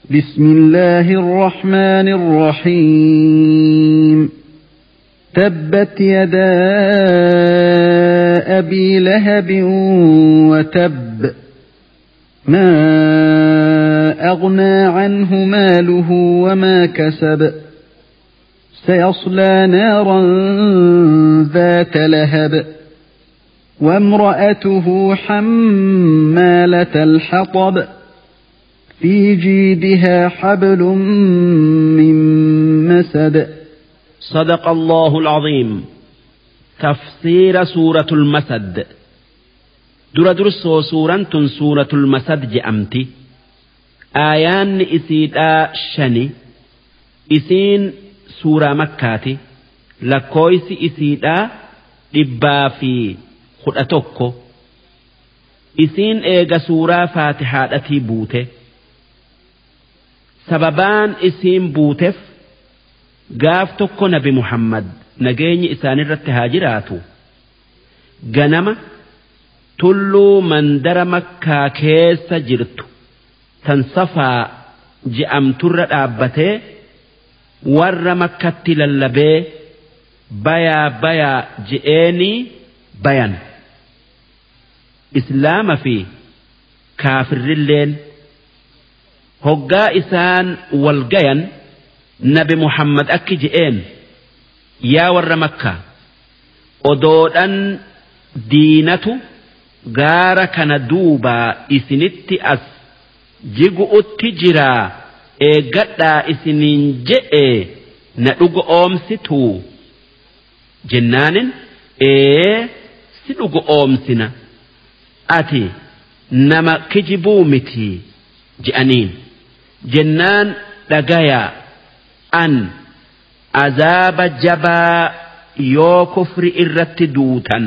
بسم الله الرحمن الرحيم تبت يدا أبي لهب وتب ما أغنى عنه ماله وما كسب سيصلى نارا ذات لهب وامرأته حمالة الحطب في جيدها حبل من مسد. صدق الله العظيم. تفسير سورة المسد. درسو سورة المسد جأمتي آيان إسيدا شني إسين سورة مكاتي لكويس إسيدا إبا في خدأتوكو إسين إيغا سورة فاتحة التي بوته sababaan isiin buuteef gaaf tokko nabi Muhammad nageenyi isaan irratti haa jiraatu ganama tulluu mandara makkaa keessa jirtu tan safaa je'amturra dhaabbatee warra makkatti lallabee bayaa je'eenii bayan islaama fi kaafirrilleen hoggaa isaan walgayan nabi Muhammad akki je'een yaa warra makkaa odoodhan diinatu gaara kana duubaa isinitti as jigu'utti jiraa eeggadhaa isiniin je'e na dhugo oomsituu jennaanin si dhugo oomsina ati nama kijibuu mitii je'aniin jennaan dhagayaa an azaaba jabaa yoo kufri irratti duutan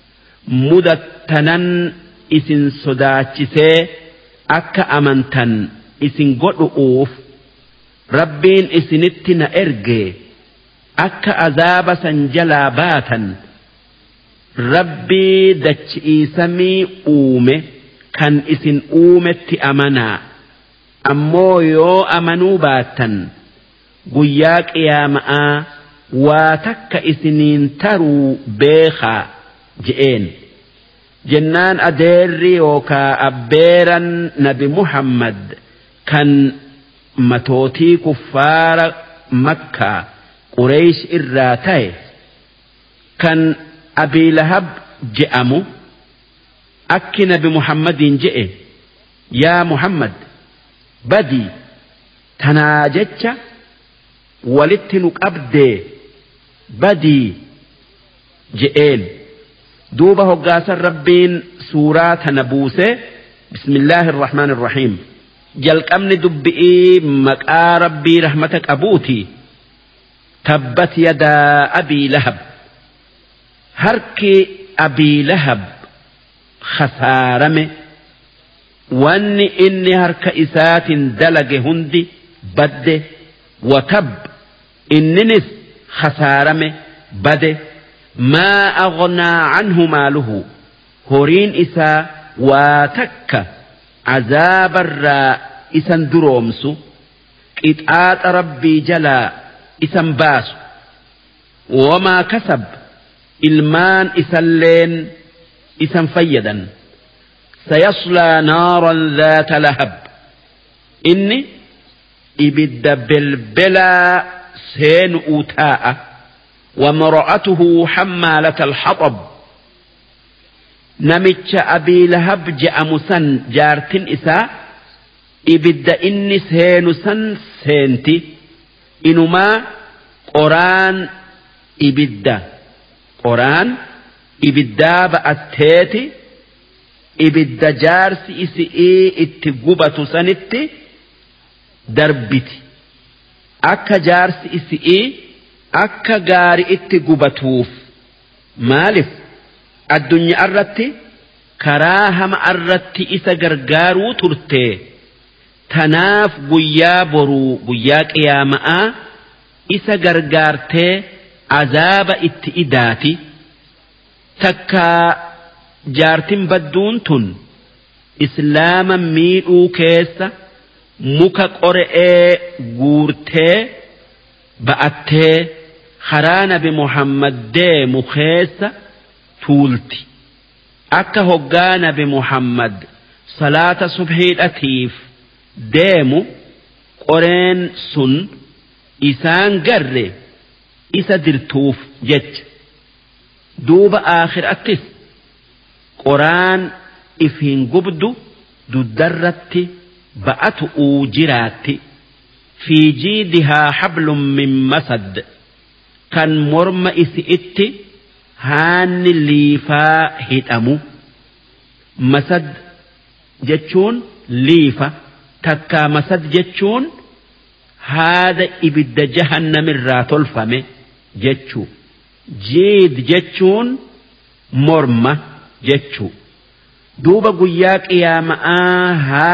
mudattanan isin sodaachisee akka amantan isin godhu'uuf rabbiin isinitti na erge akka azaaba san jalaa baatan rabbii dachi'ii samii uume kan isin uumetti amanaa ammoo yoo amanuu baattan guyyaa qiyaama'aa waa takka isiniin taruu beekaa je'een jennaan adeerri yookaa abbeeran nabi Muhammad kan matootii kuffaara makkaa Qureesh irraa ta'e kan Abii Lahab je'amu akki nabi Muhammadiin je'e yaa Muhammad badii tanaa jecha walitti nu qabdee badii je'een duuba hoggaasan rabbiin suuraa tana buuse bismillaahi irrahmaan irrahiim jalqabni dubbi'ii maqaa rabbii rahmata qabuuti tabbat yadaa abii lahab harki abii lahab khasaarame wanni inni harka isaatiin dalage hundi badde watab inninis khasaarame bade maa aghnaa anhu maaluhu horiin isaa waa takka azaabarraa isan duroomsu qixaaxa rabbii jalaa isan baasu wamaa kasab ilmaan isalleen isan fayyadan سيصلى نارا ذات لهب إني إبد بلبلا سين أوتاء ومرأته حمالة الحطب نمتش أبي لهب جاء مسن جارتن إساء إبد إني سين سن سينتي إنما قران إبدا بأتيتي ibidda jaarsi isi'ii itti gubatu sanitti darbiti akka jaarsi isi'ii akka gaari itti gubatuuf maaliif addunyaa irratti karaa hama irratti isa gargaaruu turte tanaaf guyyaa boruu guyyaa qiyaama'aa isa gargaartee azaaba itti idaati takkaa jaartin badduun tun islaama miidhuu keessa muka qor'ee guurtee ba'attee karaa nabi Muhammad deemu keessa tuulti akka hoggaa nabi Muhammad salaata subhiidhatiif deemu qoreen sun isaan garre isa dirtuuf jecha duuba aakhiraattis qoraan ifiin gubdu duddarratti ba'atu jiraatti fi jiidihaa hablum min masad kan morma isi'itti haanni liifaa hidhamu masad jechuun liifa takkaa masad jechuun haada ibidda jahannamirraa tolfame jechuu jiid jechuun morma jechuu duuba guyyaa qiyaama'aa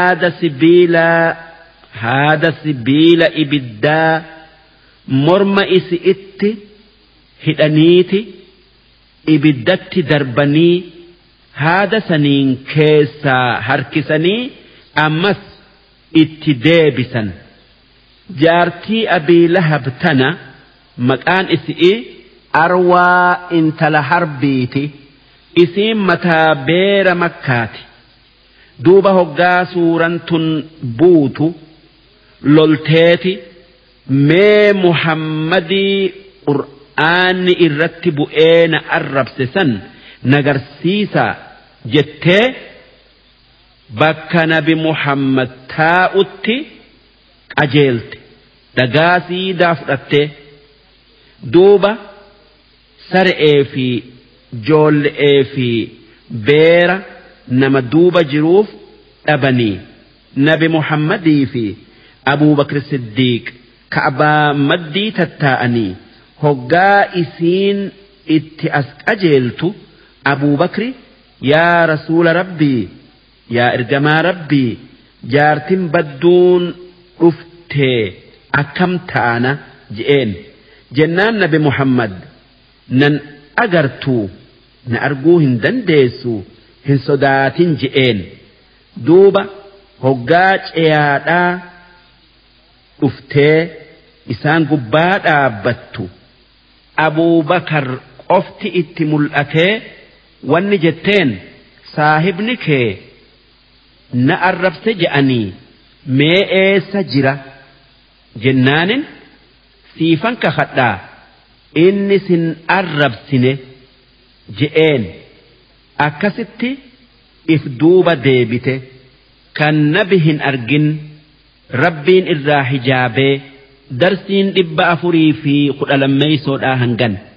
haada sibiila ibiddaa morma isi'itti hidhaniiti ibiddatti darbanii haada saniin keessaa harkisanii ammas itti deebisan jaartii abii lahab tana maqaan isi'i arwaa intala harbiiti isiin mataa beera makkaati duuba hoggaa suuraan tun buutu lolteeti mee muhammadii qur'aanni irratti bu'ee na arrabse san nagarsiisaa jettee bakka nabi Muhammad taa'utti qajeelte dhagaa siidaa fudhattee duuba sar'ee fi joolle'ee fi beera nama duuba jiruuf dhabanii nabi Muhammadii fi Abuu Bakr Siddiiq ka'baa maddii tattaa'anii hoggaa isiin itti as qajeeltu Abuu Bakri yaa rasuula rabbii yaa ergamaa rabbii jaartin badduun dhuftee akkam taana je'een jennaan nabi Muhammad nan agartuu na arguu hin dandeessu hin sodaatin je'een duuba hoggaa ceyaadhaa dhuftee isaan gubbaa dhaabbattu Abuu Bakar qofti itti mul'atee wanni jetteen saahibni kee na arrabse je'anii mee eessa jira jennaanin siifan kakadhaa inni sin arrabsine je'een akkasitti if duuba deebite kan nabi hin argin rabbiin irraa hijaabee darsiin 412 hangan